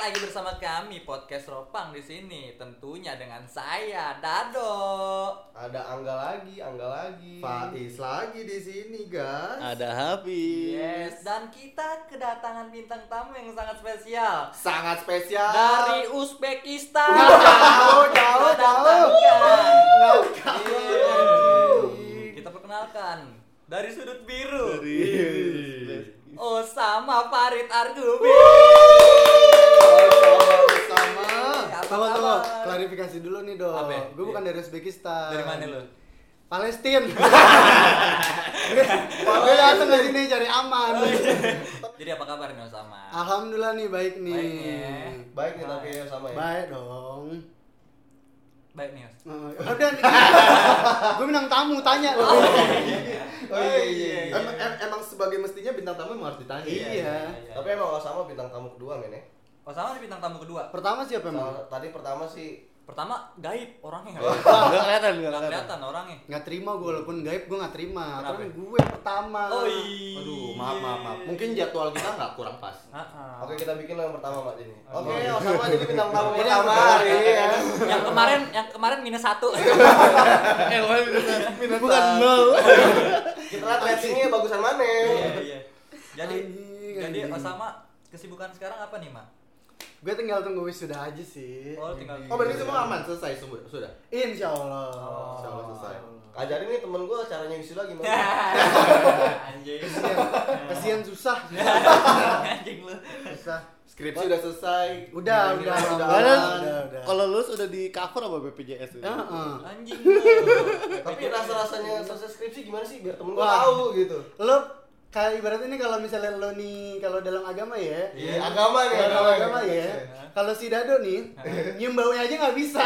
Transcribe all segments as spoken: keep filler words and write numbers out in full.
lagi bersama kami podcast Ropang di sini, tentunya dengan saya Dado. Ada Angga lagi, Angga lagi. Faiz lagi di sini, guys. Ada Hafiz. Yes, dan kita kedatangan bintang tamu yang sangat spesial Sangat spesial. dari Uzbekistan. Jauh, jauh, jauh. Datangkan. Jauh. Iya. Kita perkenalkan dari sudut biru. Dari Osama Farid Argubi. Sama. Apa Tunggu, tunggu. kabar? Klarifikasi dulu nih, Dok. Apa? Gue bukan dari Uzbekistan. Dari mana lu? Palestina. Gue datang ke sini cari aman. Jadi apa kabar nih Osama? Alhamdulillah nih, baik nih. Baik nih, ya. Baik nih tapi ya sama ya. Baik dong. Baik nih, Os. Uh, udah nih. Gue bintang tamu tanya. Oh iya iya. iya. Em- em- emang sebagai mestinya bintang tamu emang harus ditanya. Iya. iya. Tapi emang gak sama bintang tamu kedua men ya. Osama di bintang tamu kedua. Pertama siapa emang? Sama- Tadi pertama sih Pertama gaib orangnya nggak Enggak kelihatan, enggak nggak kelihatan. kelihatan orangnya. Nggak terima gue, walaupun gaib gue nggak terima. Kenapa? Karena gue pertama. Oh iya. Aduh, maaf maaf maaf. Mungkin jadwal kita nggak kurang pas. Ah-ah. Oke kita bikin yang pertama Mak ini. Oke. Oke, oh sama jadi bintang tamu Ini pertama yang hari ini ya. Yang kemarin yang kemarin minus satu. Eh, wah, minus bukan nol. Kita lihat ratingnya bagusan mana. Iya iya. Jadi Anjing, jadi anjing. Osama kesibukan sekarang apa nih, Mak? Gue tinggal tunggu wisuda aja sih. Oh, tinggal Oh berarti semua aman selesai semua sudah. Insya Allah. Oh. Insya Allah selesai. Ajarin nih temen gue caranya wisuda gimana. Anjing. Kasian, kasian susah. Anjing lu. Susah. Skripsi udah selesai. Udah, Nilai udah, sudah udah. aman. udah, udah. Kalau lulus udah di cover apa B P J S itu? Heeh. Anjing lu. Tapi rasa-rasanya selesai skripsi gimana sih biar temen gue Wah. tahu gitu. Lo kayak ibaratnya nih kalau misalnya lo nih kalau dalam agama ya. Iya, agama nih, Kalau dalam agama agama nih. ya. Kalau si Dado nih nyium baunya aja nggak bisa.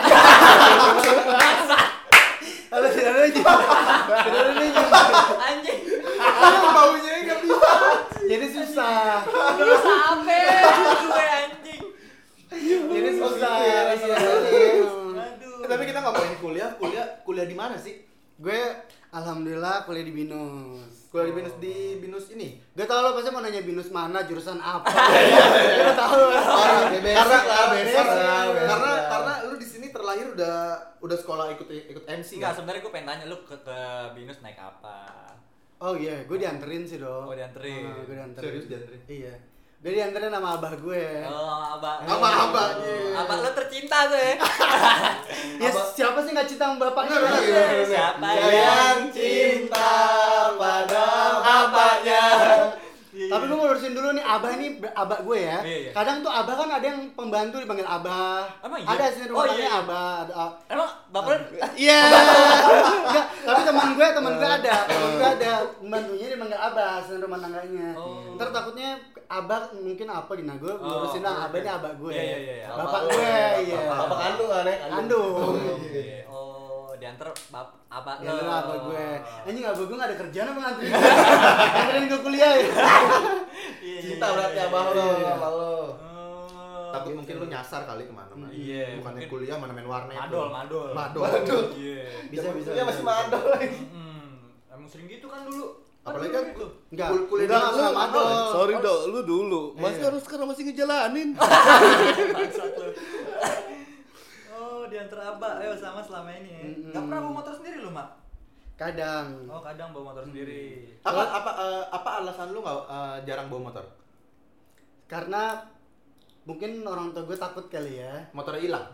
Kalau si Dado nyium, si Dado nih nyium Anjing. baunya nggak bisa. Jadi susah. Bisa apa? Gue anjing. Jadi susah. gitu ya, Iya. Aduh. Eh, tapi kita ngomongin kuliah, kuliah, kuliah di mana sih? Gue alhamdulillah kuliah di Binus. Kuliah di binus di binus ini. Gak tau lo pasti mau nanya binus mana, jurusan apa. Gak tau. Karena Karena beres, karena beres. karena karena lu di sini terlahir udah udah sekolah ikut ikut M C Enggak, kan? sebenarnya gue pengen tanya lu ke, ke Binus naik apa? Oh iya, gue dianterin sih dong. Oh, dianterin. gue dianterin. Serius dianterin? Iya. Gue dianterin sama abah gue. Oh, abah. Sama abahnya. Abah lu tercinta gue. Ya siapa sih nggak cinta sama bapaknya? Bener, bener, Iya. bener. Siapa yang cinta pada bapaknya. Tapi gue mau lurusin dulu nih, abah ini abah gue ya. Iya, iya. Kadang tuh abah kan ada yang pembantu dipanggil abah. Emang iya? Ada sih rumah Oh, iya, tangganya iya. abah. Ada, ah. Emang bapak lu Iya. Enggak, tapi teman gue, teman gue ada, teman gue ada pembantunya dipanggil abah, asisten rumah tangganya. Oh. Ntar takutnya abah mungkin apa di gue ngurusin Oh, lah, abah ini abah gue. Iya, iya, iya, iya. Bapak lu, gue, ya. iya. Bapak kandung kan ya? Kandung. Iya. Oh, diantar bap abah Ya lu. lu abah gue. Anjing abah gue gak ada kerjaan apa nganterin. Nganterin gue kuliah ya. Iya, Cinta iya, berarti iya, abah iya, lo iya. sama lo. Oh, Takut gitu. mungkin lu nyasar kali kemana-mana. Iya, Bukannya mungkin. kuliah mana main warnet. Madol, lu. madol. Madol. Madol. Iya. Bisa, bisa. Dia masih madol lagi. Hmm, emang sering gitu kan dulu. Apalagi kan gitu. Enggak, Kul- kuliah enggak di langsung lu, madol. Sorry dok, lu dulu. Masih Iya. harus sekarang masih ngejalanin. Bangsat lu. Oh, diantar abah. Ayo sama selama ini. Ya. Mm-mm. Gak pernah bawa motor sendiri lu, Mak? Kadang. Oh, kadang bawa motor sendiri. apa apa eh, apa alasan lu nggak eh, jarang bawa motor? Karena mungkin orang tua gue takut kali ya. Motornya hilang.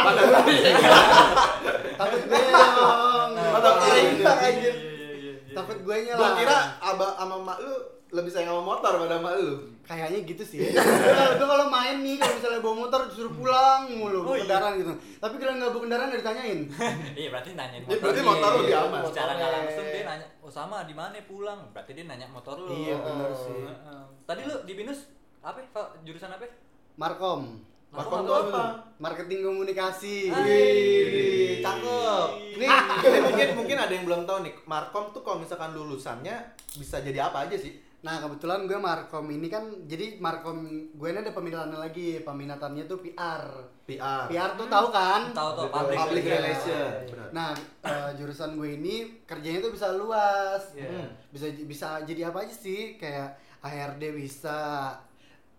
Takut gue dong. Motor Motor hilang hilang, anjir. anjir. Iya, iya, iya. Takut gue nya Gua lah. kira abah sama mak lu lebih sayang sama motor pada mak lu. Kayaknya gitu sih. Gue kalau main nih, kalau misalnya bawa motor disuruh pulang mulu, Oh, bawa iya. kendaraan gitu. Tapi kalau nggak bawa kendaraan nggak ditanyain. Iya, berarti nanyain Ya, berarti motornya. motor lu lebih aman. Secara nggak Motornya. langsung dia nanya, "Oh, sama di mana pulang?" Berarti dia nanya motor lu. Iya, benar Oh, sih. heeh. Tadi lu di Binus apa? Pak? Jurusan apa? Markom, Markom Markom tuh apa? apa? marketing komunikasi. Wih, cakep. Ini, Ah. ini mungkin mungkin ada yang belum tahu nih. Markom tuh kalau misalkan lulusannya bisa jadi apa aja sih? Nah kebetulan gue Markom ini kan, jadi Markom gue ini ada peminatannya lagi, peminatannya tuh P R. P R. P R tuh tahu kan? Tahu tuh Public public, Public relation. relation. Benar. Nah eh, jurusan gue ini kerjanya tuh bisa luas, Iya. bisa bisa jadi apa aja sih, kayak H R D bisa,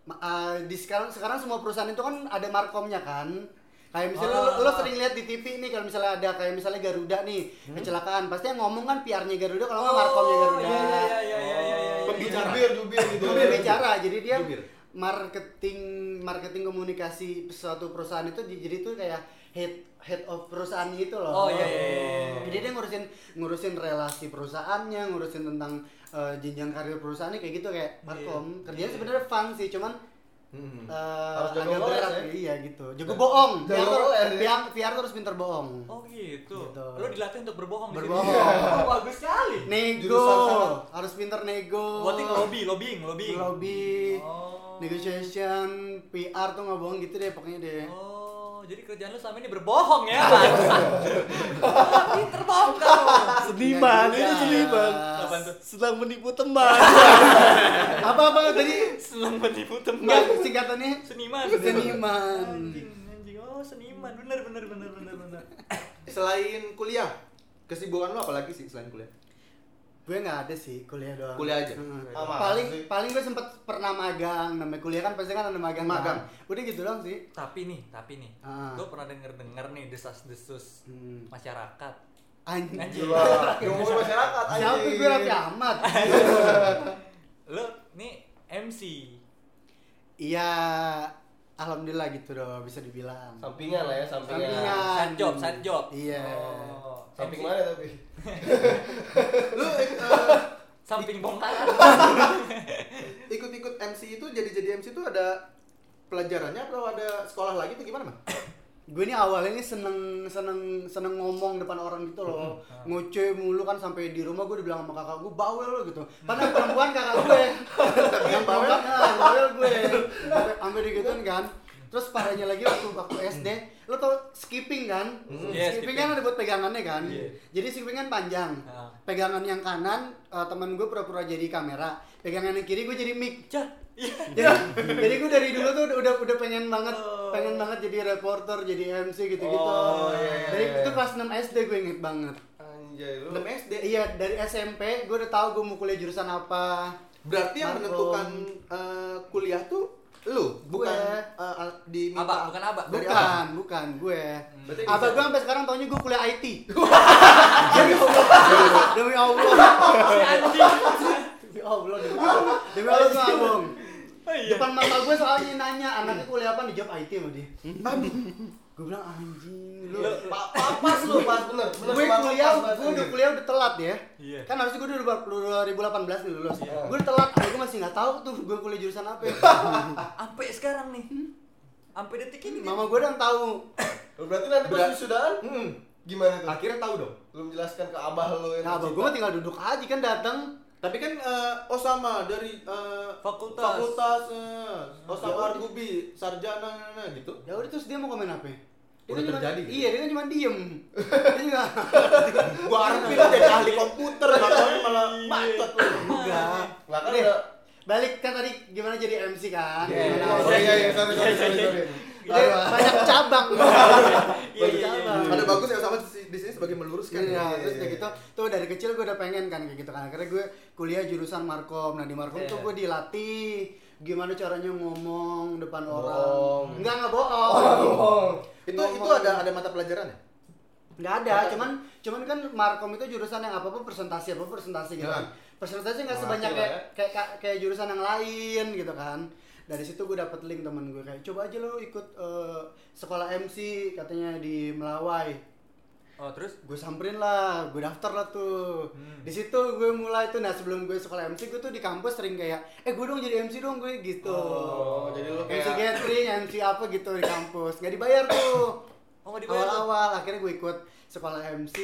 Ma- uh, di sekarang sekarang semua perusahaan itu kan ada markomnya kan. Kayak misalnya Ah. lo, lo sering lihat di T V nih kalau misalnya ada kayak misalnya Garuda nih hmm? kecelakaan, pasti yang ngomong kan P R-nya Garuda kalau nggak markomnya Garuda. Iya iya iya iya iya. iya. Pembicara. Jubir, jubir gitu. Jubir bicara, jadi dia Jubir. marketing marketing komunikasi suatu perusahaan itu di- jadi itu kayak head head of perusahaan itu loh. Oh iya iya. iya. Jadi dia ngurusin ngurusin relasi perusahaannya, ngurusin tentang uh, jenjang karir perusahaannya kayak gitu kayak markom. Kerjanya sebenarnya fun sih, cuman Hmm. uh, Harus jago agak ngeles berat ya? iya gitu. Jago bohong. Jago P R tuh- ngeles ya? P R P R terus pinter bohong. Oh gitu. Gitu. Lo dilatih untuk berbohong. di sini. Berbohong. Oh, bagus sekali. Nego, Jurusan sama- harus pinter nego. Berarti lobby, lobbying, lobbying. Lobby, Oh. negotiation, P R tuh nggak bohong gitu deh pokoknya deh. Oh, jadi kerjaan lu selama ini berbohong ya, Mas? Pinter bohong kamu. Seniman, Iya itu juga. seniman. Apaan tuh? Sedang menipu teman. Apa-apa tadi? Senang menipu teman. Enggak, singkatannya Seniman. seniman. Anjing, anjing. Oh, seniman. Bener, bener, bener, bener, bener. Selain kuliah, kesibukan lo apa lagi sih selain kuliah? Gue nggak ada sih kuliah doang. Kuliah aja? Heeh. Sama paling sih. paling gue sempet pernah magang. Namanya kuliah kan pasti kan ada magang. Magang. kan? Udah gitu doang sih. Tapi nih, tapi nih. Ah. Gue pernah denger-denger nih desas-desus Hmm. masyarakat. Anjing. Anjing. Wah, ngomongin masyarakat anjing. Siapa gue Raffi Ahmad? Lo nih M C. Iya, alhamdulillah gitu dong bisa dibilang. Sampingan lah ya, sampingan. Sampingan. Side job, side job. Iya. Oh, Samping M C. mana tapi? Lu eh, Samping bongkaran. ikut-ikut M C itu jadi-jadi M C itu ada pelajarannya atau ada sekolah lagi tuh gimana, Bang? Gue ini awalnya ini seneng seneng seneng ngomong depan orang gitu loh, ngoceh mulu kan sampai di rumah gue dibilang sama kakak gue bawel lo gitu. Padahal perempuan kakak gue, yang bawel, nah, bawel gue, sampai sampai digituin kan. Terus parahnya lagi waktu waktu S D, lo tau skipping kan? Iya, skipping skipping. kan ada buat pegangannya kan. Iya. Jadi skipping kan panjang. Ah. Pegangan yang kanan uh, teman gue pura-pura jadi kamera, pegangan yang kiri gue jadi mic. Cah. Iya. jadi, jadi gue dari dulu tuh udah udah pengen banget Oh. pengen banget jadi reporter, jadi M C gitu-gitu. Oh, iya, iya, Dari iya. itu kelas enam S D gue inget banget. Anjay lu. enam S D. Iya, dari S M P gue udah tahu gue mau kuliah jurusan apa. Berarti yang Markom. menentukan eh, kuliah tuh lu, bukan Gue. eh, al- diminta. Abah, bukan abah. Dari Bukan, bukan gue. Berarti Abah bisa- gue sampai sekarang taunya gue kuliah I T. Demi Allah. Demi Allah. Si anjing. Demi Allah, demi Allah. Demi Allah gue nggak bohong. Oh, iya. Depan mata gue soalnya nanya anaknya kuliah apa, dijawab I T sama dia. Gue bilang anjing lu. Pa- pa- pas lu, pas bener. Bener Gue pas- kuliah, pas- pas- gue udah kuliah udah telat ya. Iya. Kan harusnya gue udah dua ribu delapan belas nih lulus. Iya. Gue udah telat, gue masih nggak tahu tuh gue kuliah jurusan apa. Sampai sekarang nih. Sampai detik ini. Mama gue udah tahu. Berarti nanti pas Berat. wisudaan Hmm. gimana tuh? Akhirnya tahu dong. Lu menjelaskan ke abah lu yang Nah, abah gue tercinta. mah tinggal duduk aja kan datang. Tapi kan eh, oh sama dari eh, Fakultas. fakultas eh, oh Ya sama udah. Argubi, sarjana nah, nah, gitu. Ya udah terus dia mau komen apa? Dia Udah kan cuma- terjadi gitu? Iya, dia kan cuma diem. Dia juga Gua harapin lu jadi ahli komputer, enggak tahu malah bacot lu. enggak. Lah kan Nih, udah. balik kan tadi gimana jadi M C kan? Iya, Gimana- iya, iya, iya, sorry, sorry, sorry, sorry. Jadi banyak cabang. Iya, iya, iya, cabang. Ada bagus ya sama di sini sebagai meluruskan. Iya, ya. terus udah gitu, tuh dari kecil gue udah pengen kan kayak gitu kan. Akhirnya gue kuliah jurusan Markom. Nah di Markom tuh Iya. gue dilatih gimana caranya ngomong depan Bohong. orang. Enggak enggak bohong. Oh. Itu Ngomong. itu ada ada mata pelajarannya? Nggak ada, cuman cuman kan Markom itu jurusan yang apa apa presentasi apa presentasi gitu Ya. kan. Presentasi nggak Ngerti sebanyak lah kayak, ya. kayak kayak kayak jurusan yang lain gitu kan. Dari situ gue dapet link temen gue kayak coba aja lo ikut eh, sekolah M C katanya di Melawai. Oh, terus? Gue samperin lah, gue daftar lah tuh. Hmm. Di situ gue mulai tuh. Nah sebelum gue sekolah M C gue tuh di kampus sering kayak, eh gue dong jadi M C dong gue gitu. Oh, jadi lu M C kayak gathering, M C apa gitu di kampus, nggak dibayar tuh. Oh, nggak dibayar tuh? Awal-awal, akhirnya gue ikut sekolah M C,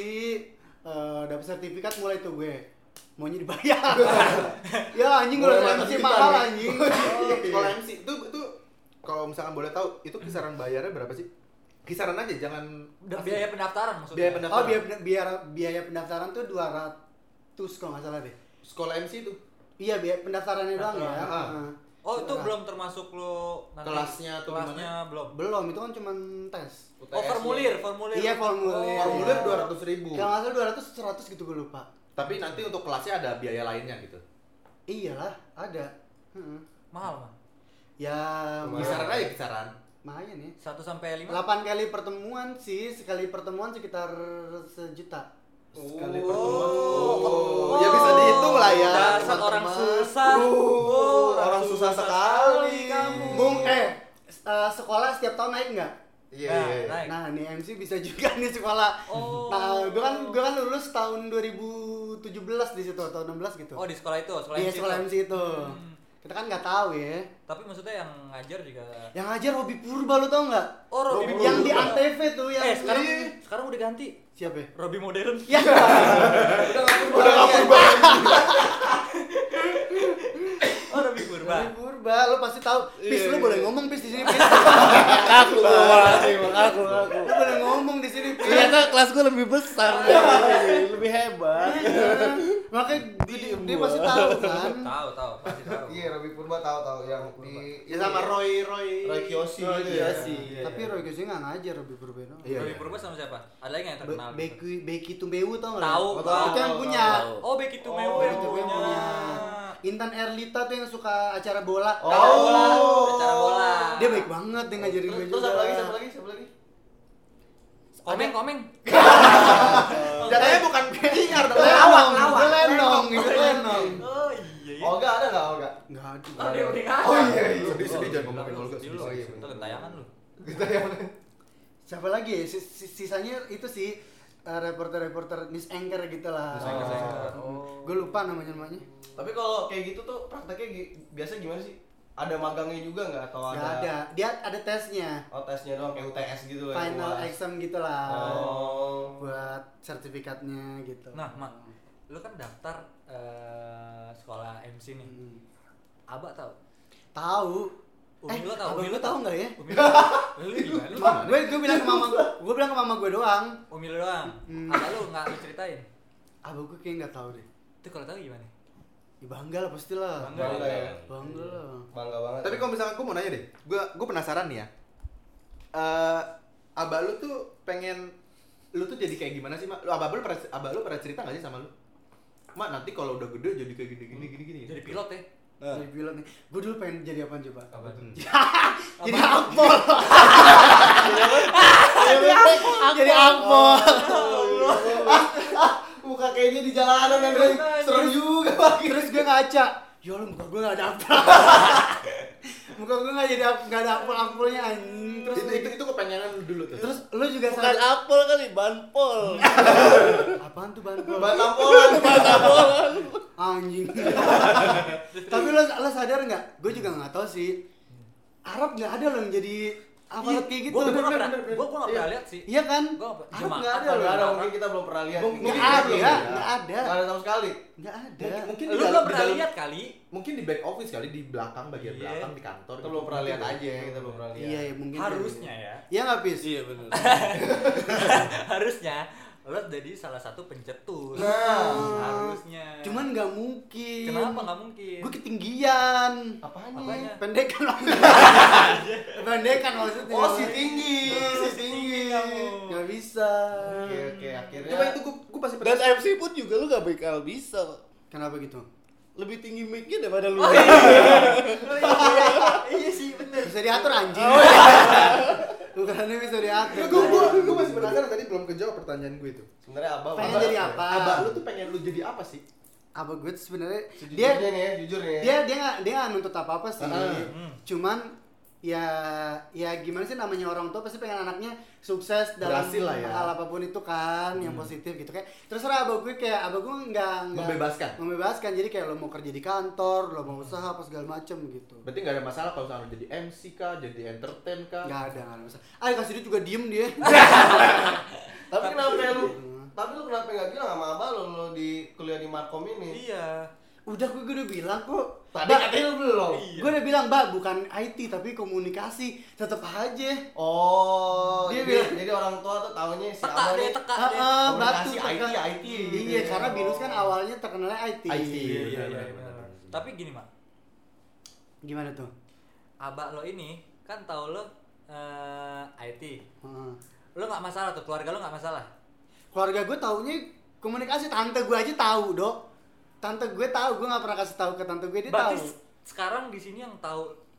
eh dapet sertifikat mulai tuh gue maunya dibayar. Ya anjing gue Mulai M C sertifikat mahal nih. anjing. Oh, sekolah M C itu itu kalau misalkan boleh tahu itu kisaran bayarnya berapa sih? Kisaran aja jangan Udah biaya pendaftaran maksudnya. biaya pendaftaran. Oh biaya biaya biaya pendaftaran tuh dua ratus kalau nggak salah deh. Sekolah M C itu Iya biaya pendaftarannya doang ya. Ah. Heeh. Oh, itu Nah. belum termasuk lo nanti Kelasnya atau kelasnya belum. Belum, itu kan cuma tes. U T Oh, S formulir, formulir. Iya, formulir. Oh, formulir dua ratus ribu. Kalau nggak salah dua ratus, seratus gitu gue lupa. Tapi nanti untuk kelasnya ada biaya lainnya gitu. Iyalah, ada. Heeh. Mahal, Bang. Ya Kisaran aja kisaran. lumayan ya. satu sampai lima. delapan kali pertemuan sih, sekali pertemuan sekitar sejuta. Sekali Oh. pertemuan. Oh, ya bisa dihitung lah ya. Dasar orang teman-teman. susah. Uh, orang susah sekali. kamu. Bung, eh uh, sekolah setiap tahun naik nggak? Iya, Nah, iya. naik. Nah, nih M C bisa juga nih sekolah. Oh. Nah, gue kan gue kan lulus tahun dua ribu tujuh belas di situ atau enam belas gitu. Oh, di sekolah itu, sekolah Iya, M C sekolah itu. M C itu. Hmm. Kita kan nggak tahu ya. Tapi maksudnya yang ngajar juga. Yang ngajar Robi Purba lu tau nggak? Oh, Robi Purba. Yang di Antv tuh yang Eh, sekarang Ih, sekarang udah ganti. siapa ya? Robi modern. Ya. Udah nggak berubah. Oh, Robi Purba. Robi Purba, lu pasti tahu. Pis, Iya, lu iya. boleh ngomong Pis di sini, Pis. Aku makasih, aku aku. Lu boleh ngomong di sini, Pis. Ternyata kelas gue lebih besar dari lebih hebat. Makanya dia, Diem dia gua. pasti tahu kan. Tahu, tahu, pasti tahu. Iya, Robi Purba tahu-tahu yang di Ya sama Roy Roy. Roy Kiyoshi Roy gitu ya. Kiyoshi. Iya, Tapi iya. Roy Kiyoshi nggak ngajar Robi Purba no. Iya, Robi iya. Purba sama siapa? Ada lagi nggak yang terkenal? gitu? Becky Becky Tumbewu tau nggak? Tahu, lu? tahu, Itu yang tahu, punya. tahu. Oh, Becky tuh Oh, Mewe Becky Tumbewu punya. Intan Erlita tuh yang suka acara bola. Oh. Acara bola, acara bola. Dia baik banget dia ngajarin gue Terus juga. siapa lagi? Siapa lagi? Siapa lagi? Komeng, komeng. Jatuhnya bukan penyiar dong. Lenong, itu lenong, itu lenong. Oh iya. iya. Olga ada nggak Olga? Enggak ada. Oh, dia udah nggak. Oh iya iya. Sedih-sedih jangan ngomongin Olga. Sedih lu. Oh, iya, Itu bener. kentayangan lu. Kita yang Siapa lagi ya? Sis- sis- Sisanya itu sih uh, reporter-reporter news anchor gitu lah. News anchor, news anchor. Oh. Gue lupa namanya namanya. Tapi kalau kayak gitu tuh prakteknya gi- biasa gimana sih? Ada magangnya juga nggak atau Gak ada? ada. Dia ada tesnya. Oh tesnya doang kayak U T S gitu ya. Final U A S. exam gitu lah. Oh. Buat sertifikatnya gitu. Nah, Mak, lu kan daftar eh, sekolah M C nih. Hmm. Abah tahu? Tahu. Umi Eh, lu tahu? abang Umi lu tahu nggak ya? Umi lu tahu? Lu gimana? Lu gimana? Gue gue bilang ke mama gue, gue bilang ke mama gue doang. Umi lu doang. Hmm. Abah lu nggak lu ceritain? Abang gue kayak nggak tahu deh. Itu kalau tahu gimana? Ya bangga lah pastilah. Bangga. Bangga ya. Bangga lah. Bangga banget. Tapi kalau misalkan gue mau nanya deh, gue gue penasaran nih ya. Eh, abah lu tuh pengen lu tuh jadi kayak gimana sih, Mak? Lu abah lu pernah abah lu pernah cerita nggak sih sama lu? Mak, nanti kalau udah gede jadi kayak gini gini gini gini. Jadi pilot ya? Jadi pilot nih. Gue dulu pengen jadi apaan coba? Apa tuh? Jadi akpol. Jadi akpol. muka kayak dia di jalanan yang serem juga Pak. Terus gue ngaca. Ya Allah, muka gue gak ada apa. Muka gue gak jadi ap- gak ada akpol-akpolnya anjing. Terus Itu itu, itu kepengenan lu dulu tuh. terus lu juga Bukan sadar. apel kali, banpol. Apaan tuh banpol? Ban tampolan. Anjing. Tapi lo lo sadar nggak? Gue juga nggak tahu sih. Arab nggak ada loh yang jadi aparat kayak gitu. Gue Bener, nggak bener, pernah, bener. gue gue nggak pernah lihat sih. Iya kan? Gua nggak- Arab jemaah nggak ada Nggak loh. ada, mungkin kita belum pernah lihat. Mungkin Nggak kita ada, belum ya? ya. nggak ada, Nggak ada sama sekali. nggak ada. Mungkin, mungkin Lu di belum dalam, di pernah dalam- lihat kali? mungkin di back office kali, di belakang bagian Iya. belakang di kantor. Kita belum pernah lihat aja, kita belum pernah lihat. Iya, ya, mungkin. Harusnya ya. Iya nggak pis? Iya benar. Harusnya lo jadi salah satu pencetus. Nah. Harusnya. Cuman nggak mungkin. kenapa nggak mungkin? Gue ketinggian. Apanya? Apanya? Pendekan maksudnya. Pendekan maksudnya. Oh, si tinggi, si tinggi. kamu. Nggak bisa. Oke, oke, akhirnya. Coba itu gue gue pasti Dan M C pun juga lu gak bakal bisa. Kenapa gitu? Lebih tinggi mic-nya daripada lu. Oh, iya. Oh, iya. Iya sih bener. Bisa diatur anjing. Ukurannya bisa diatur. gue gue gue masih penasaran, tadi belum kejawab pertanyaan gue itu. Sebenarnya abah Pengen abah- jadi apa? Abah lu tuh pengen lu jadi apa sih? Apa gue tuh sebenarnya Sejujurnya dia nih ya, jujur nih ya. dia dia nggak dia nggak nuntut apa apa sih. Hmm. Cuman ya ya gimana sih, namanya orang tua pasti pengen anaknya sukses dalam Berhasil lah ya. hal apapun itu kan, yang positif gitu kayak. Terserah abah gue, kayak abah gue nggak nggak- Membebaskan. membebaskan jadi kayak lo mau kerja di kantor, lo mau usaha apa segala macem gitu. Berarti nggak ada masalah kalau misalnya lu jadi M C kah, jadi entertain kah? Nggak ada nggak ada masalah. Ah, kasih duit juga diem dia. Tapi kenapa lu? Tapi lu kenapa nggak bilang sama abah lu, lu di kuliah di Markom ini? Iya. Udah gue, gue udah bilang kok. Tadi katanya lu belum. Iya. Gue udah bilang, Mbak, bukan I T tapi komunikasi. Tetep aja. Oh, Dia jadi, bilang- jadi orang tua tuh taunya si Teka abah deh, nih. teka Ah, deh. ah, batu Komunikasi I T, tekan. I T gitu Iya, ya. karena Binus kan awalnya terkenalnya I T. I T. Iya, iya, Benar, iya. benar, benar. benar. Tapi gini, Mak. Gimana tuh? Abah lo ini kan tahu lo eh, I T. Heeh. Lo nggak masalah tuh, keluarga lo nggak masalah. Keluarga gue taunya komunikasi. Tante gue aja tahu, Dok. Tante gue tahu, gue nggak pernah kasih tahu ke tante gue, dia Berarti tahu. s- sekarang di sini yang tahu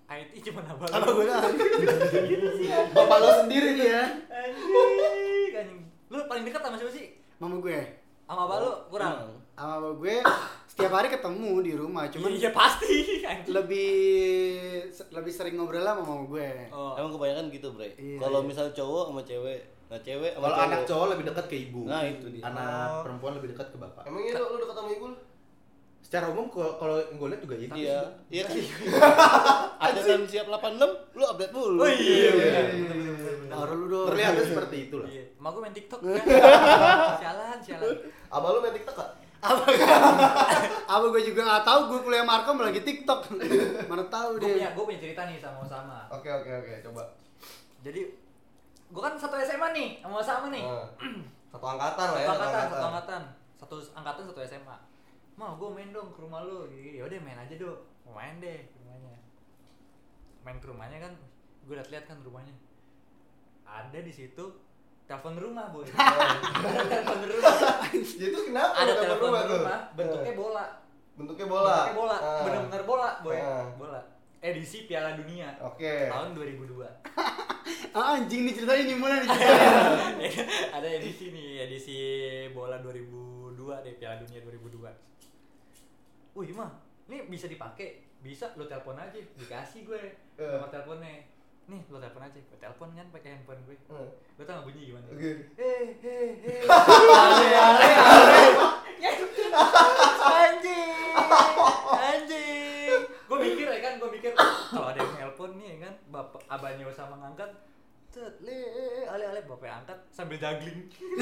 I T cuma abang. Apa gue dah? Bapak lo sendiri dia. Anjing, anjing. Lu paling dekat sama siapa sih? Mama gue. Sama abang lu kurang. Sama abang gue setiap hari ketemu di rumah, cuman Iya pasti. Anjing. lebih lebih sering ngobrol lah sama mama gue. Oh. Emang kebanyakan gitu, Bre. Iya, Kalau iya. misal cowok sama cewek, nah cewek sama Kalau cowok. anak cowok lebih dekat ke ibu. Nah, itu dia. Anak Oh. perempuan lebih dekat ke bapak. Emang iya lu, lu dekat sama ibu lu? Secara umum kalau kalau gue lihat juga iya. Iya, iya kan. Updatean siap delapan puluh enam, lu update dulu. Oh iya. Iya. Taruh lu dong. Terlihatnya seperti itulah. Iya. Emak gue main TikTok kan. Sialan, sialan. Abang lu main TikTok gak? Apa gue juga nggak tahu, gue kuliah Markom lagi TikTok. Mana tahu Gue punya, dia. gue punya cerita nih sama Osama. Oke oke oke, coba. Jadi gue kan satu S M A nih sama Osama nih. Nah, satu angkatan lah ya, Satu angkatan, satu angkatan. Satu angkatan, satu S M A. Mau gue main dong ke rumah lu. Ya udah main aja dong. Mau main deh ke rumahnya. Main ke rumahnya kan, gue liat-liat kan rumahnya. Ada di situ telepon rumah, boy. Ada telepon rumah. Itu kenapa? Ada lu telepon rumah tuh? rumah, bentuknya bola. Bentuknya bola. Bentuknya bola, Ah. bener-bener bola, boy. Ah. Bola. Edisi Piala Dunia Oke. tahun dua ribu dua. Ah, anjing nih ceritanya nih mulai nih ceritanya. Ada edisi nih, edisi bola dua ribu dua deh, Piala Dunia dua ribu dua. Wih mah, ini bisa dipakai, bisa lo telepon aja, dikasih gue Eh. nomor teleponnya. Nih lo telepon aja, gue telepon kan pakai handphone gue. Hmm. Lo tau gak bunyi gimana? Oke. Eh, eh, eh. Ale, ale, ale. Ya, anjing, anjing. Gue mikir ya kan, gue mikir kalau ada yang telepon nih ya kan, bapak abahnya sama ngangkat. Cet, le, ale, ale, bapak angkat sambil juggling.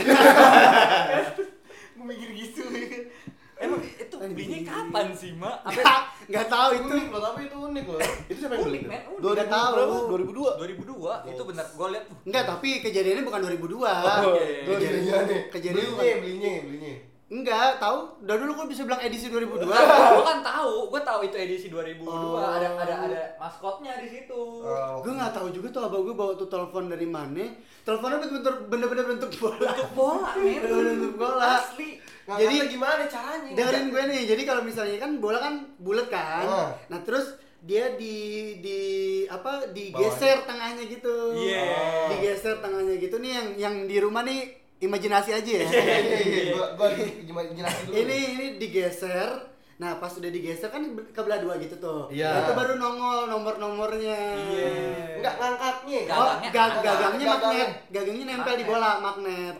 Gue mikir gitu. Emang itu belinya kapan sih, Mak? Apa Nggak tahu itu. Unik loh, tapi itu unik loh. Itu siapa yang beli? unik, men? Unik. Dua ribu tahu. Berapa? dua ribu dua. dua ribu dua itu benar. Gue lihat uh, Enggak, tapi kejadiannya bukan dua ribu dua. Oh, iya, iya. Belinya nih. Kejadian Belinya, bukan. belinya, belinya. Enggak, tahu. Udah dulu kok bisa bilang edisi dua ribu dua. gue kan tahu, gue tahu itu edisi dua ribu dua. Oh. Ada ada ada maskotnya di situ. Oh, Gue nggak tahu juga tuh abang gue bawa tuh telepon dari mana. Teleponnya bener-bener bener-bener bentuk bola. Bentuk bola, men. Bener-bener bentuk bola. Asli. Jadi- jadi gimana caranya? Dengerin gue nih. Jadi kalau misalnya kan bola kan bulat kan. Oh. Nah, terus dia di di apa digeser tengahnya gitu. Iya. Digeser tengahnya gitu nih yang yang di rumah nih imajinasi aja ya. Iya iya iya, gua gua jelasin dulu. ini ini digeser. Nah, pas udah digeser kan kebelah dua gitu tuh. Iya. Nah, itu baru nongol nomor-nomornya. Iya. Enggak ngangkatnya. Nggak. Oh, Gagangnya gag- ada. gagangnya Gagangnya. magnet. Gagangnya nempel di Magnet. bola, magnet.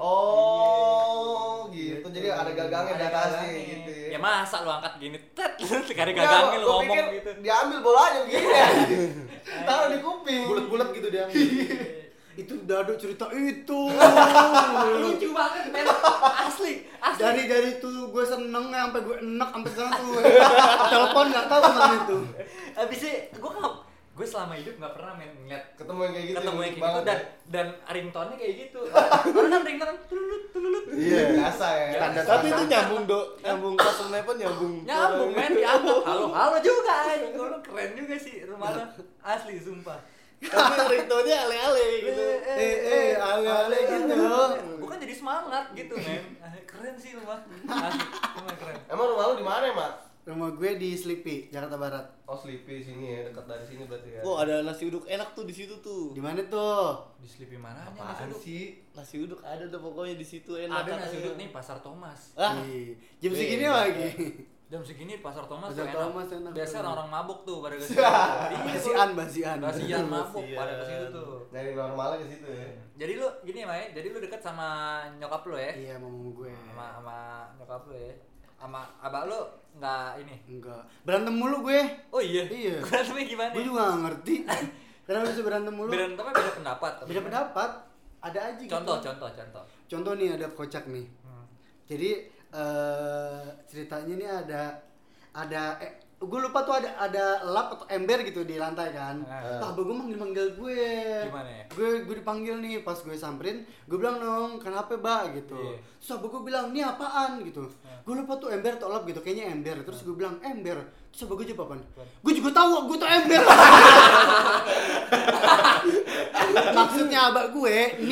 Oh, gitu. Jadi ada gagangnya di Ada atasnya gagangnya. gitu ya. Ya masa lu angkat gini, tet, sekali Enggak, gagangnya lu gua ngomong pikir gitu. Diambil bolanya begini ya. Taruh di kuping. Bulat-bulat gitu dia. Itu dadu cerita itu. Lucu banget, men. Asli, asli. dari dari tuh gue seneng sampai gue enak sampai sekarang tuh. Telepon nggak tahu kemana itu. Habisnya gue nggak, gue selama hidup nggak pernah men ngeliat Ketemu yang kayak gitu. ketemu yang unik kayak gitu banget dan ya. dan ringtone-nya kayak gitu. Orang kan ringtone tululut tululut. Iya, biasa ya. Standar. Tapi itu nyambung, Dok. Nyambung customer telepon nyambung. Nyambung men, diangkat. Halo, halo juga anjing. Lu keren juga sih rumah lu. Asli sumpah. Tapi ringtone-nya ale-ale gitu. Eh eh ale-ale gitu. Gue kan jadi semangat gitu men. Keren sih rumah. Asli, rumah keren. Emang rumah lu di mana, Mat? Rumah gue di Sleepy, Jakarta Barat. Oh, Sleepy sini ya, dekat dari sini berarti ya. Oh, ada nasi uduk enak tuh di situ tuh. Di mana tuh? Di Sleepy mananya Apaan nasi uduk? sih? Nasi uduk ada tuh pokoknya di situ enak. Ada nasi katanya. uduk nih Pasar Thomas. Ah, Ih, jam Beda. segini lagi. Jam segini Pasar Thomas Pasar tuh Thomas enak. enak. Biasa orang-orang mabuk tuh pada ke situ. Basian, basian. Basian mabuk Basian. pada ke situ tuh. Nyari normalnya ke situ ya. Jadi lu gini ya, Mai. Jadi lu dekat sama nyokap lu ya? Iya, mama gue. Sama sama nyokap lu ya. Sama abah lu enggak ini. Enggak. Berantem mulu gue. Oh iya. Iya. Berantemnya gimana? Gue juga gak ngerti. Kenapa bisa berantem mulu? Berantemnya beda pendapat. apa Beda gimana? pendapat. Ada aja gitu. Contoh, contoh, contoh. Contoh nih ada kocak nih. Hmm. Jadi eh ceritanya nih ada ada eh, gue lupa tuh ada ada lap atau ember gitu di lantai kan. Ah. Lah, abah gue manggil-manggil gue. Gimana ya? Gue gue dipanggil nih, pas gue samperin, gue bilang dong, kenapa Mbak gitu. Iya. Terus abah gue bilang, "Ini apaan?" gitu. Ah. Gue lupa tuh ember atau lap gitu, kayaknya ember. Terus gue bilang, "Ember." Terus abah gue jawab apaan? Apaan? Gue juga tahu, gue tuh ember. Maksudnya abah gue, ini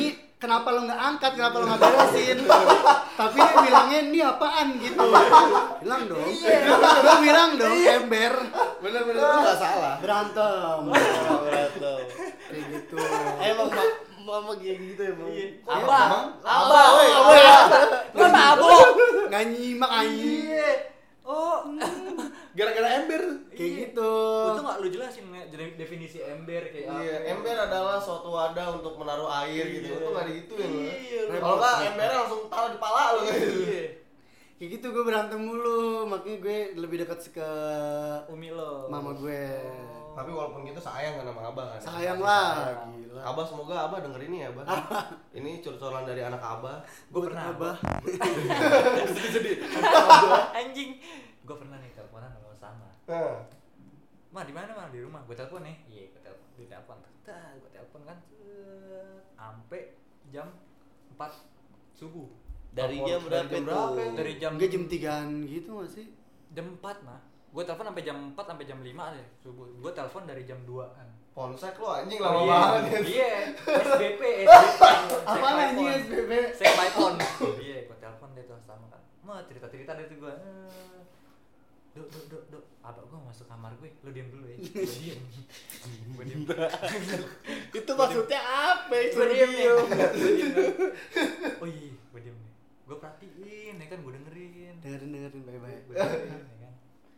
kenapa lo nggak angkat, kenapa lo nggak beresin? Tapi dia bilangnya ini apaan gitu. Bilang dong. Gue bilang dong ember. Bener-bener lu nggak salah. Berantem. Berantem. Kayak gitu. Emang mak mama kayak gitu ya, Bang. Abah, Abah, woi. Gua mabuk. Nggak nyimak anjing. Iya. Oh, Gara-gara ember. Kayak gitu. Itu nggak lu jelasin nggak jadi definisi ember kayak apa? Iya, ember adalah suatu wadah untuk menaruh air gitu. Iya. Itu nggak digituin loh. Iya, Kalau nggak embernya langsung taruh di pala lo gitu. Iya. Kayak gitu gue berantem mulu, makanya gue lebih dekat ke Umi lo. mama gue. Tapi walaupun gitu sayang kan sama abah kan. Sayang lah, gila. Abah semoga abah denger ini ya, Abah. Ini curcolan dari anak abah. Gue pernah Abah. Sedih-sedih. Anjing. Gue pernah nih teleponan sama sama. Nah, Ma di mana ma di rumah? Gue telepon nih. Iya, gue telepon. Di telepon. Dah, gue telepon kan. Sampai jam empat subuh. Dari Telepon jam berapa dari jam itu? berapa? Dari jam Enggak jam tigaan gitu gak sih? jam empat mah. Gue telepon sampai jam empat sampai jam lima deh subuh. Gue telepon dari jam dua-an. Polsek lo anjing lama Iya, banget ya. Iya, S B P, S B P. Apa anjing S B B? Saya by phone. Iya, gue telepon deh tuh sama kan. Ma cerita-cerita deh tuh gue. Dok, dok, dok, dok. Abang gue masuk kamar gue. Lu diam dulu ya. Gue diam. Gue diam. Itu maksudnya apa? Gue diam nih. Gue diam. Oh iya, gue diam nih. Gue perhatiin, ya kan gue dengerin. Dengerin dengerin baik-baik. Gue dengerin, ya kan.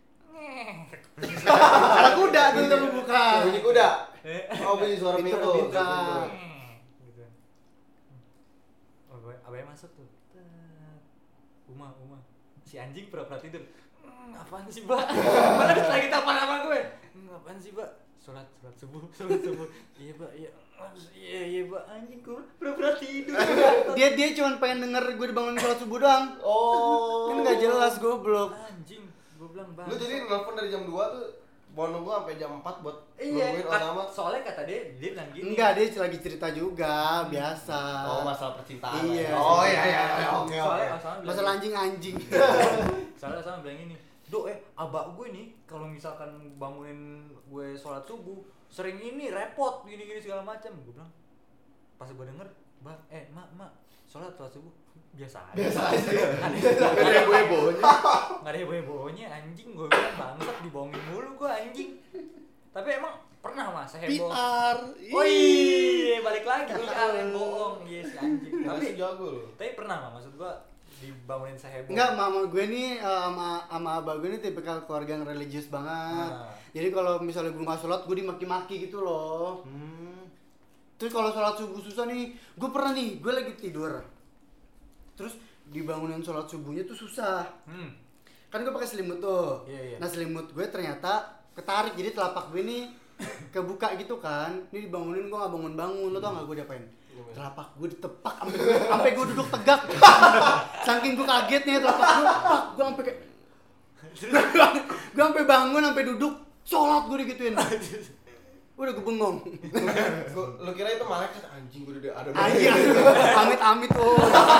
Ada kuda tuh untuk buka. Bunyi kuda. Oh, bunyi suara Pintu pintu. kebuka. Gitu. Oh, gue abangnya masuk tuh. Tet. Uma, Uma. Si anjing pura-pura tidur. Hmm, apaan sih, Mbak? Mana lagi telepon sama gue. Hmm, apaan sih, Mbak? Sholat, sholat subuh, sholat subuh. Iya, Mbak, iya. Iya, iya, Mbak. Anjing gue pura-pura tidur. Dia dia cuma pengen denger gue dibangunin sholat subuh doang. Oh. Kan nggak jelas goblok. Anjing, gue bilang, Bang. Lu jadi nelfon dari jam dua tuh mau nunggu sampai jam empat buat iya, nungguin kat- Osama. soalnya kata dia, dia bilang gini. Enggak, dia lagi cerita juga, biasa. Oh, masalah percintaan. Iya. Oh, iya iya iya. Oke, Soalnya oke. Osama bilang Masalah anjing-anjing. Soalnya sama bilang ini, Dok eh abak gue nih kalau misalkan bangunin gue sholat subuh sering ini repot gini-gini segala macam. Gue bilang pas gue denger, Bang, eh mak mak sholat sholat subuh biasa aja. Biasa aja. Nggak ada heboh-hebohnya. nggak ada heboh-hebohnya anjing. Gue bilang bangsat dibohongin mulu gue anjing. Tapi emang pernah mas P heboh. R. Oh iya balik lagi P R yang bohong yes anjing. Tapi Tapi jago lu. tapi pernah mah maksud gue dibangunin seheboh. Enggak, mama gue nih eh, sama sama abah gue nih tipikal keluarga yang religius banget. Ah. Jadi kalau misalnya gue nggak sholat, gue dimaki-maki gitu loh. Hmm. Terus kalau sholat subuh susah nih, gue pernah nih, gue lagi tidur. Terus dibangunin sholat subuhnya tuh susah. Hmm. Kan gue pakai selimut tuh. Iya, iya. Nah selimut gue ternyata ketarik, jadi telapak gue nih kebuka gitu kan. Ini dibangunin gue nggak bangun-bangun, lo tau nggak gue diapain? Telapak gue ditepak sampai gue sampai gue duduk tegak. Saking gue kagetnya telapak gue, pak, gue sampai kayak gue sampai bangun sampai duduk sholat gue digituin. Udah gue bengong. Gua- Lu kira itu malaikat anjing gua udah ada. Anjir, amit-amit oh.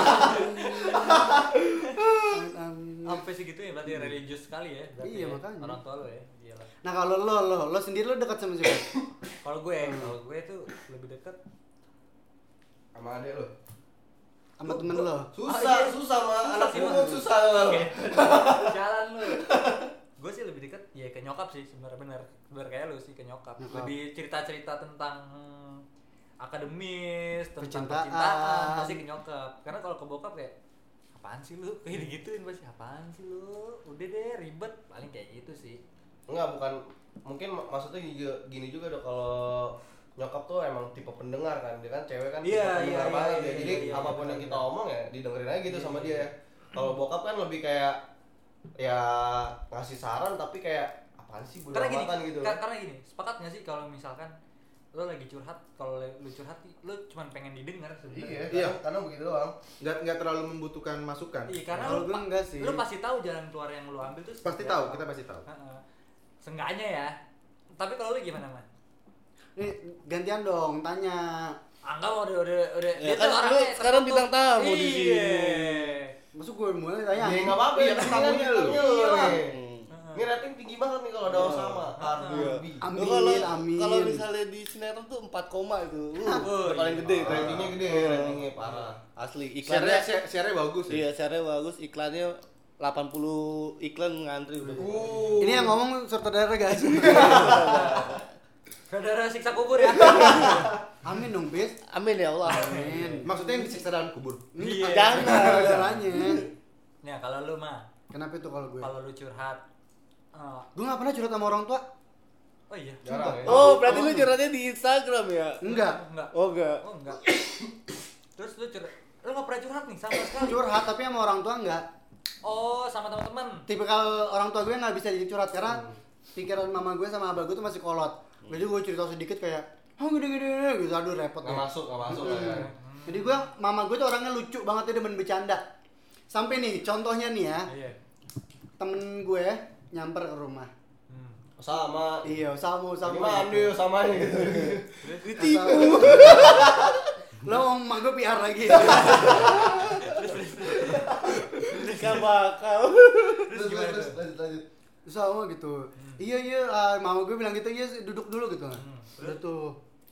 Amit-amit. Sampai segitu ya berarti religius sekali ya. Berarti Iya, ya. makanya. Orang tua lo ya. Gila. Nah kalau lo lo lo sendiri lo dekat sama siapa? Kalau gue, kalau gue tuh lebih dekat Sama adek lu. Sama temen lo? Susah, Ah, iya. susah mah Susah anak sih, pungut Mas. susah lu. jalan lu. Gue sih lebih dekat ya ke nyokap sih sebenarnya benar. Benar kayak lu sih ke nyokap. Nyokap. Lebih cerita-cerita tentang akademis, tentang Percintaan. percintaan, pasti ke nyokap. Karena kalau ke bokap kayak apaan sih lu? Kayak digituin pasti apaan sih lu? Udah deh ribet, paling kayak gitu sih. Enggak, bukan mungkin mak- maksudnya juga- gini juga dong kalau nyokap tuh emang tipe pendengar kan, dia kan cewek kan tipe Iya, pendengar iya, banget iya, ya. iya, Jadi iya, apapun iya, yang benar, kita benar. omong ya didengerin aja gitu Iya, sama iya. dia. Kalau bokap kan lebih kayak ya ngasih saran tapi kayak apaan sih bodo Karena gini, amatan gitu. ka- karena gini, sepakat nggak sih kalau misalkan lo lagi curhat, kalau le- lu curhat, lo cuma pengen didengar Iya, sebenarnya. Iya. karena, karena begitu doang. Nggak nggak terlalu membutuhkan masukan. Iya, karena Kalau lu, gue pa- enggak sih. lu pasti tahu jalan keluar yang lu ambil tuh. Pasti seperti tahu, apa. kita pasti tahu. Heeh. Seenggaknya ya. Tapi kalau lu gimana, Man? Nih gantian dong tanya. Anggap udah udah udah Ya kan lu sekarang bintang tamu di sini. Iya. Masuk gue mulai tanya. Ya enggak apa-apa Iya, ya, kan tamunya lu. nih. Hmm. Heeh. Ini rating tinggi banget nih kalau ada Osama. Cardi B. Amin, Lu kalau amin. kalau misalnya di sinetron tuh empat koma itu. Uh, Oh, udah paling iya. gede itu. Ratingnya gede, ratingnya parah. Asli Share-nya iklannya share-nya bagus ya. iya, share-nya bagus, iklannya delapan puluh iklan ngantri udah. Uh. Ini yang ngomong sutradara guys. Saudara siksa kubur ya. Amin dong, Bis. Amin ya Allah. Amin. Maksudnya yang disiksa dalam kubur. Iya. Jangan saudaranya. Nah, kalau lu mah, Kenapa itu kalau gue? kalau lu curhat eh, Gue gak pernah curhat sama orang tua. oh iya. Jarang ya. Oh, berarti lu curhatnya di Instagram ya? Enggak. Enggak. Oh, enggak. Oh, enggak. Terus lu curhat, lu gak pernah curhat nih sama sekali. Curhat tapi sama orang tua enggak. Oh, sama teman-teman. Tipikal orang tua gue nggak bisa jadi curhat karena pikiran mama gue sama abah gue tuh masih kolot. Jadi gue cerita sedikit kayak, oh gede-gede gitu, aduh repot Nggak deh. masuk, nggak masuk lah ya. Jadi gue, mama gue tuh orangnya lucu banget, dia demen bercanda. Sampai nih, contohnya nih ya, Iya. temen gue nyamper ke rumah. Hmm. Sama. Iya, sama Sama sama. mandi sama gitu. Ditipu. Lo emak gue P R lagi. Gak bakal. Terus gimana terus tuh? lanjut lanjut. Sama gitu. Iya iya, ah, mama gue bilang gitu, iya duduk dulu gitu. Udah tuh.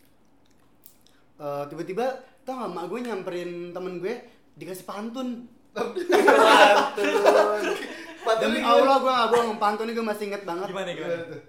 Eh, tiba-tiba tau gak mak gue nyamperin temen gue dikasih pantun. Pantun. Demi Allah gue gak bohong, pantunnya gue masih inget banget. Gimana gimana? tuh?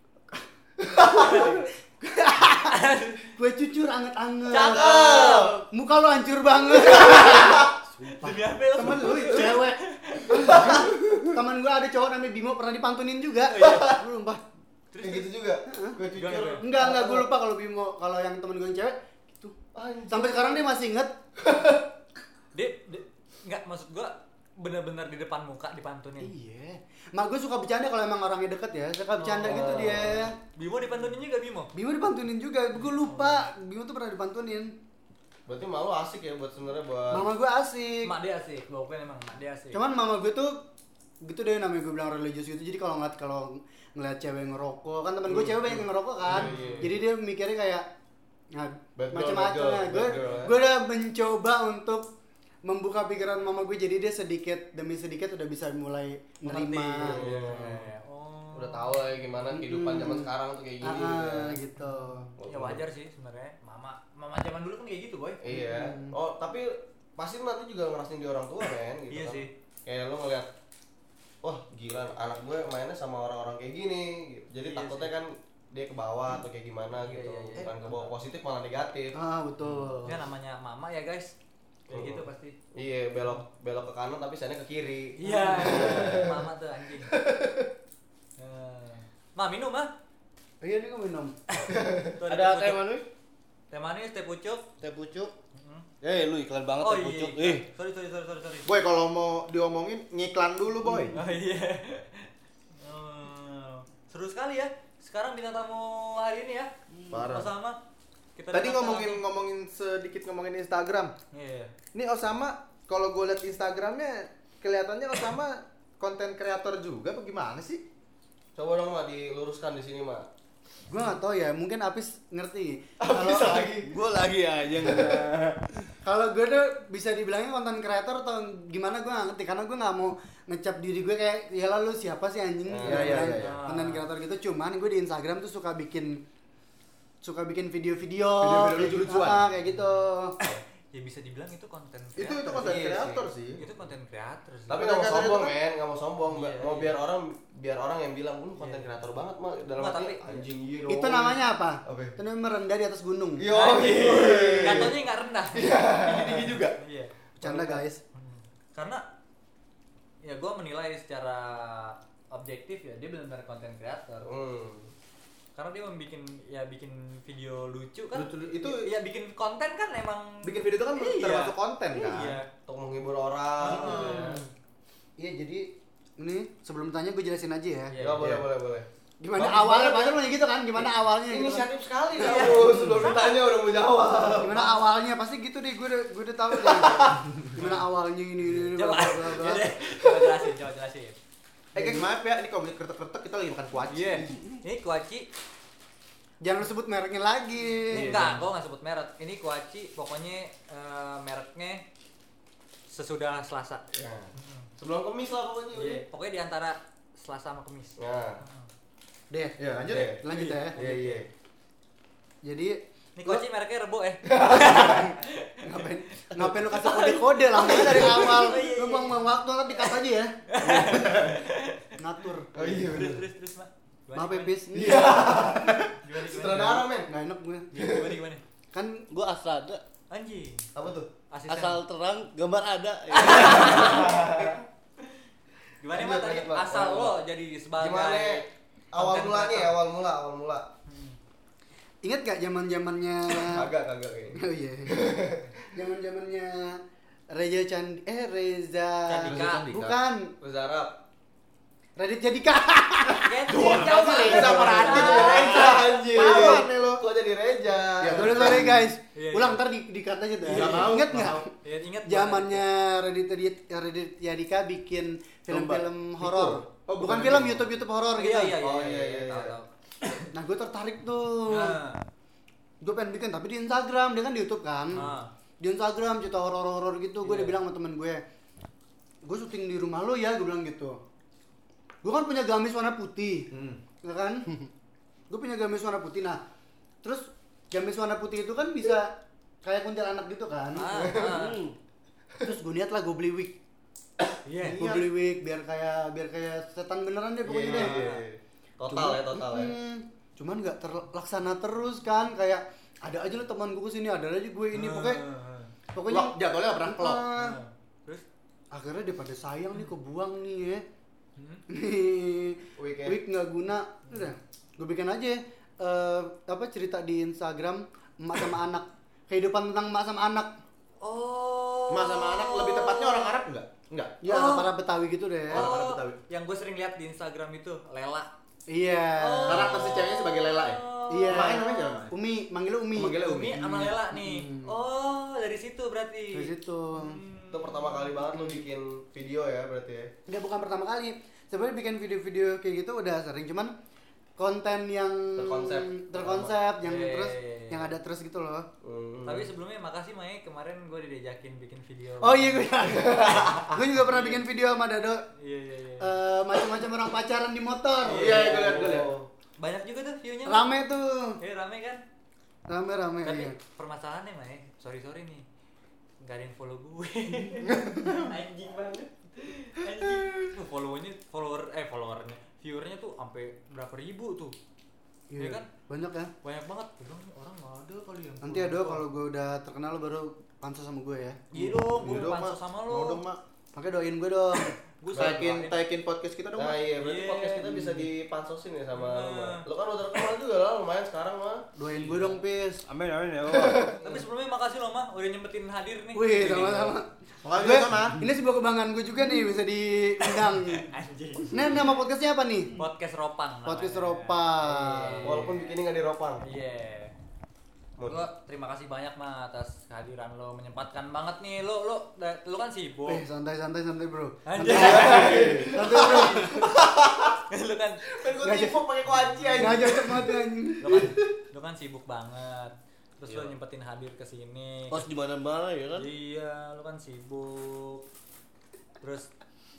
Gue cucur anget-anget. Cakep. Muka lo hancur banget. Demi apa lu? Temen lu itu cewek. Temen gue ada cowok namanya Bimo pernah dipantunin juga. Lu lupa. Kayak gitu juga. Gue cucur. Gimana? Enggak enggak gue lupa kalau Bimo, kalau yang temen gue yang cewek gitu. Sampai sekarang dia masih inget. Dia, dia enggak maksud gua benar-benar di depan muka dipantunin. Iya. Mak gue suka bercanda kalau emang orangnya deket ya. Suka bercanda Oh. gitu dia. Bimo dipantunin juga Bimo. Bimo dipantunin juga. Gue lupa. Bimo tuh pernah dipantunin. Berarti malu asik ya buat sebenarnya buat. Mama gue asik. Mak dia asik, gua akuin emang mak dia asik. Cuman mama gue tuh gitu deh, namanya gue bilang religius gitu. Jadi kalau ngeliat kalau ngeliat cewek ngerokok, kan temen gue cewek banyak yang ngerokok kan. Iya, iya. Jadi dia mikirnya kayak nah, Bad girl, macam-macam bad ya. girl, Gue bad girl, ya. gue udah mencoba untuk membuka pikiran mama gue, jadi dia sedikit demi sedikit udah bisa mulai nerima. Iya, iya. Oh. Udah tahu lah ya gimana kehidupan Hmm. zaman sekarang tuh kayak gini. Ah, ya. gitu. Ya wajar sih sebenarnya. Mama mama zaman dulu kan kayak gitu, boy. Iya. Oh, tapi pasti lu nanti juga ngerasain di orang tua men gitu Iya kan. sih. Kayak lu ngeliat, wah gila anak gue mainnya sama orang-orang kayak gini gitu. Jadi Iya takutnya sih. kan dia ke bawah atau kayak gimana Iya, gitu. iya, iya. Bukan ke bawah positif malah negatif. Ah, betul. Ya namanya mama ya, guys. Kayak Hmm. gitu pasti. Iya, belok belok ke kanan tapi sana ke kiri. Iya. Mama tuh anjing. Eh, Ma, minum ah. Iya, ini gue minum. Tuh Ada teh pucuk. manis? Teh manis, teh pucuk. Teh pucuk. Mhm. Eh, lu iklan banget Oh teh iya. pucuk. iya. Eh, Sorry, sorry, sorry, sorry, sorry. Boy, kalau mau diomongin ngiklan dulu, Boy. Oh iya. Hmm, seru sekali ya. Sekarang bintang tamu hari ini ya. Parah. Sama. Kita Tadi datang ngomongin langsung. ngomongin sedikit ngomongin Instagram. Iya. Ini Osama, kalau gue liat Instagramnya kelihatannya Osama konten kreator juga, apa gimana sih? Coba dong Mak diluruskan di sini Mak. Gue gak tau ya, mungkin Apis ngerti. Habis Kalau lagi. gua lagi aja kalau gue tuh bisa dibilangnya konten kreator atau gimana gue gak ngerti, karena gue gak mau ngecap diri gue kayak ya lalu siapa sih anjing Ah, gitu iya, iya, kan. iya, iya. Konten kreator gitu. Cuman gue di Instagram tuh suka bikin suka bikin video-video Video-video kayak- lucu-lucuan. ah, kayak gitu. Ya bisa dibilang itu konten Itu itu kreator. konten Iya kreator sih. sih. Itu konten kreator sih. Tapi Konten nggak mau kreator sombong itu kan- men, nggak mau sombong. Iya, mau iya. biar orang biar orang yang bilang lu konten Iya. kreator banget Mak. Dalam Nggak, arti tapi- anjing iya dong. Itu namanya apa? Apa? Itu namanya merendah di atas gunung. Yo. Katanya nggak rendah. Tinggi juga. Iya. Canda guys. Hmm. Karena ya gue menilai secara objektif ya dia benar-benar konten kreator. Hmm. Karena dia membikin ya bikin video lucu kan. Lucu- itu ya bikin konten kan emang bikin video itu kan Iya. termasuk konten kan. Iya. Untuk menghibur orang. Hmm. gitu ya. Iya, jadi ini sebelum tanya gue jelasin aja ya. Iya. Ya boleh Iya. boleh boleh. Gimana Bagus awalnya? banget, Pasti lo nanya gitu kan? Gimana awalnya? Gitu kan? Inisiatif sekali Iya. kamu sebelum ditanya udah mau jawab. Gimana awalnya? Pasti gitu deh, gue udah gue udah tahu deh. Gimana awalnya ini ini ini, Coba, bla, bla, bla. Yaudah, coba jelasin, coba jelasin. Eh guys, maaf ya, ini kalau kretek-kretek kita lagi makan kuaci. Iya. Ini kuaci. Jangan sebut mereknya lagi. Ini enggak, gua nggak sebut merek. Ini kuaci, pokoknya eh, mereknya sesudah Selasa. Nah, sebelum kemis lah pokoknya. Iya, pokoknya di antara Selasa sama Kamis. Nah. Deh, Ya, lanjut. Deh. lanjut ya. Iya iya. Jadi Ini koci mereknya Rebo eh. ngapain ngapain lu kasih kode-kode langsung dari awal. Lu buang-buang waktu kan dikat aja ya. Ngatur. Oh iya Terus bener. terus terus, Mak. Gimana, Maaf ya, gimana? Pis. Iya. Gimana, gimana? Sutradara men. Enggak enak gue. Gimana gimana? Kan Gua Astrada, Anjing. Apa tuh? Asisten. asal terang gambar ada. Gimana Lanjut, Mak tadi lanjut, Mak. asal Lanjut, lo Mak. jadi sebagai Gimana awal content mulanya ya, creator? awal mula, awal mula. ingat gak zaman-zamannya Kagak kagak kayaknya. Oh iya. Zaman-zamannya Reza Candi eh Reza Candika. Bukan. Uzarap. Radit Jadika. Genshin jauh banget. Reza sama Radit Jadi ya. Reja anjir. Apaan nih lo? Kok jadi Reja? Ya, Sorry sorry guys. Iya, Ulang iya. ntar di dikat aja tuh. Nggak mau, Ingat nggak nggak? mau. Ya, ingat Zamannya Radit Radit Radit Jadika bikin film-film Lomba. horor. Oh, bukan bukan film itu. YouTube YouTube horor banget. gitu. Iya iya iya. Oh, iya, iya, Tahu iya. tahu. Nah gue tertarik tuh. Nah. Gue pengen bikin tapi di Instagram, dia kan di YouTube kan. Nah. Di Instagram cerita horor-horor gitu, gue Iya. udah bilang sama temen gue, gue syuting di rumah lo ya, gue bilang gitu. Gue kan punya gamis warna putih, Hmm. ya kan? Gue punya gamis warna putih, nah terus gamis warna putih itu kan bisa kayak kuntilanak gitu kan. Ah, ah. Terus gue niat lah gue beli wig, Iya. gue beli wig biar kayak biar kayak setan beneran deh pokoknya Iya, deh. iya, iya. Total ya, total ya. Mm, cuman nggak terlaksana terus kan, kayak ada aja lo teman gue kesini, ada aja gue ini, pokoknya Ah, pokoknya Plok, jadwalnya nggak pernah plok. Ah, ah. Terus akhirnya daripada sayang nih kebuang nih ya. Hmm? Nih Wig ya? wig nggak guna, udah gue bikin aja eh, apa cerita di Instagram emak sama anak, kehidupan tentang emak sama anak. Oh. Mas sama anak lebih tepatnya orang Arab enggak? Enggak. Ya Oh. para Betawi gitu deh. Orang-orang Oh, Betawi. yang gue sering lihat di Instagram itu Lela. Iya. Oh. Karakter si ceweknya sebagai Lela ya? Iya. Emaknya namanya siapa? Mak? Umi, manggilnya Umi. Manggilnya Umi sama Lela nih. Hmm. Oh, dari situ berarti. Dari situ. Hmm. Itu pertama kali banget lu bikin video ya berarti ya. Enggak, bukan pertama kali. Sebenarnya bikin video-video kayak gitu udah sering, cuman konten yang Terkonsep. terkonsep yang Iya, terus iya, iya. yang ada terus gitu loh. Hmm. Tapi sebelumnya makasih Mae, kemarin gue diajakin bikin video. Oh iya gue. Gue juga pernah bikin video sama Dado. Iya iya iya. Eh, macam-macam orang pacaran di motor. Iya, gue liat, gue liat. Banyak juga tuh view-nya. Rame tuh. Eh rame kan? Rame-rame Tapi iya. permasalahannya Mae, sorry sorry nih. Gak ada yang follow gue. Anjing banget. Anjing. Tuh follow-nya follower eh followernya viewernya tuh sampai berapa ribu tuh. Iya kan? Banyak ya. Banyak banget. Gue bilang, orang nggak ada kali yang Nanti ya Do, kalau gue udah terkenal lo baru pansos sama gue ya. Iya dong, gue Iya dong, pansos Mak. sama Mau lo. dong, Mak. Makanya doain gue dong. Gue Taikin, taikin podcast kita dong, Nah Mak. iya, berarti Iya. podcast kita bisa dipansosin ya sama lu, Nah. Mak. Lu kan udah terkenal juga lah, lumayan sekarang mah. Doain gue dong, Pis. Amin amin ya. Tapi sebelumnya makasih loh mah udah nyempetin hadir nih. Wih, sama-sama. Makasih Gue, sama. ini sebuah kebanggaan gue juga nih bisa diundang. Anjing. Nah, nama podcastnya apa nih? Podcast Ropang. namanya. Podcast Ropang. Iya. Walaupun bikinnya nggak di Ropang. Iya. Mut. Lo terima kasih banyak mah atas kehadiran lo, menyempatkan banget nih lo lo da- lo kan sibuk. Eh, santai santai santai, Bro. Anjing. Santai, Bro. Lo kan Kan gua tipu pakai kunci aja. Enggak cocok banget anjing. lo kan lo kan sibuk banget. Terus lo Iya. nyempetin hadir ke sini. Pos di mana-mana ya kan. Iya, lo kan sibuk. Terus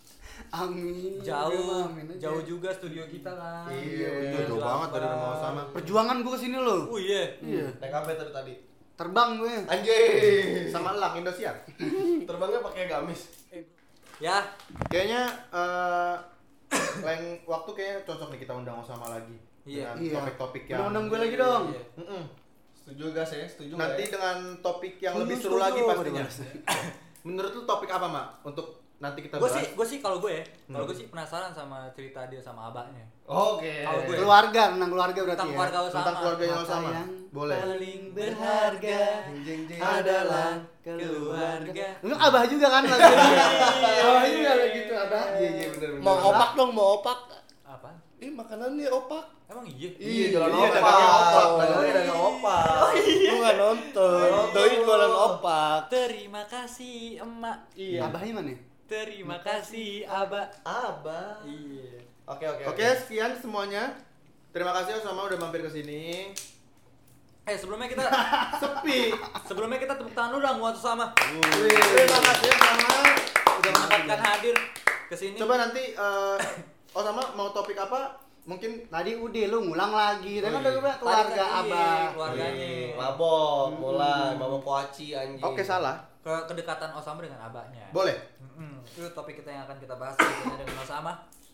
Amin. jauh Amin aja. jauh juga studio kita kan. Iya, Iya, jauh banget dari rumah Osama. Perjuangan gue kesini loh. Oh iya. Iya. Naik apa tadi tadi? Terbang gue. Anjing. Sama elang Indosiar. Terbangnya pakai gamis. Ya, Kayaknya eh lain waktu kayaknya cocok nih kita undang Osama lagi. Iya. Dengan Iya. topik-topik yang Undang-undang gue lagi dong. Iya. Mm-mm. Setuju gas ya? Setuju nggak Nanti ya? dengan topik yang Setuju, lebih seru setuju. lagi pastinya. Waduh, Menurut lu topik apa, Mak? Untuk nanti kita gue bahas. sih gue sih kalau gue ya, kalau Hmm. gue sih penasaran sama cerita dia sama abahnya. Oke. Kalau gue- Keluarga, tentang keluarga berarti Tentang ya. keluarga Osama. Tentang keluarga yang Maka sama. yang Boleh. Paling berharga Jeng, jeng, adalah keluarga. keluarga. Enggak abah juga kan lagunya. Abah juga lah gitu abah. Iya iya benar benar. Mau opak dong, mau opak. Apa? Ih, makanannya opak. Emang iya? Iya jualan Iya, opak. dagangnya opak. Dagangnya dagang opak. Lu nggak nonton. Doi jualan opak. Terima kasih emak. Iya. Abahnya mana? Terima kasih abah. Abah. Iya. Oke oke Oke, sekian semuanya. Terima kasih Osama udah mampir ke sini. Eh sebelumnya kita Sepi. sebelumnya kita tepuk tangan dulu dong buat sama Terima kasih Osama. udah menyempatkan hadir ke sini. Coba nanti eh, Oh sama mau topik apa? Mungkin Tadi udah lu ngulang lagi. Tadi Oh, kan udah iya. gue bilang keluarga Tadi kan, iya, abah. keluarganya. Mabok, Hmm. mulai mabok koaci anjing. oke salah. Ke kedekatan Osama dengan abahnya. Boleh. Mm-mm. Itu topik kita yang akan kita bahas selanjutnya dengan Osama.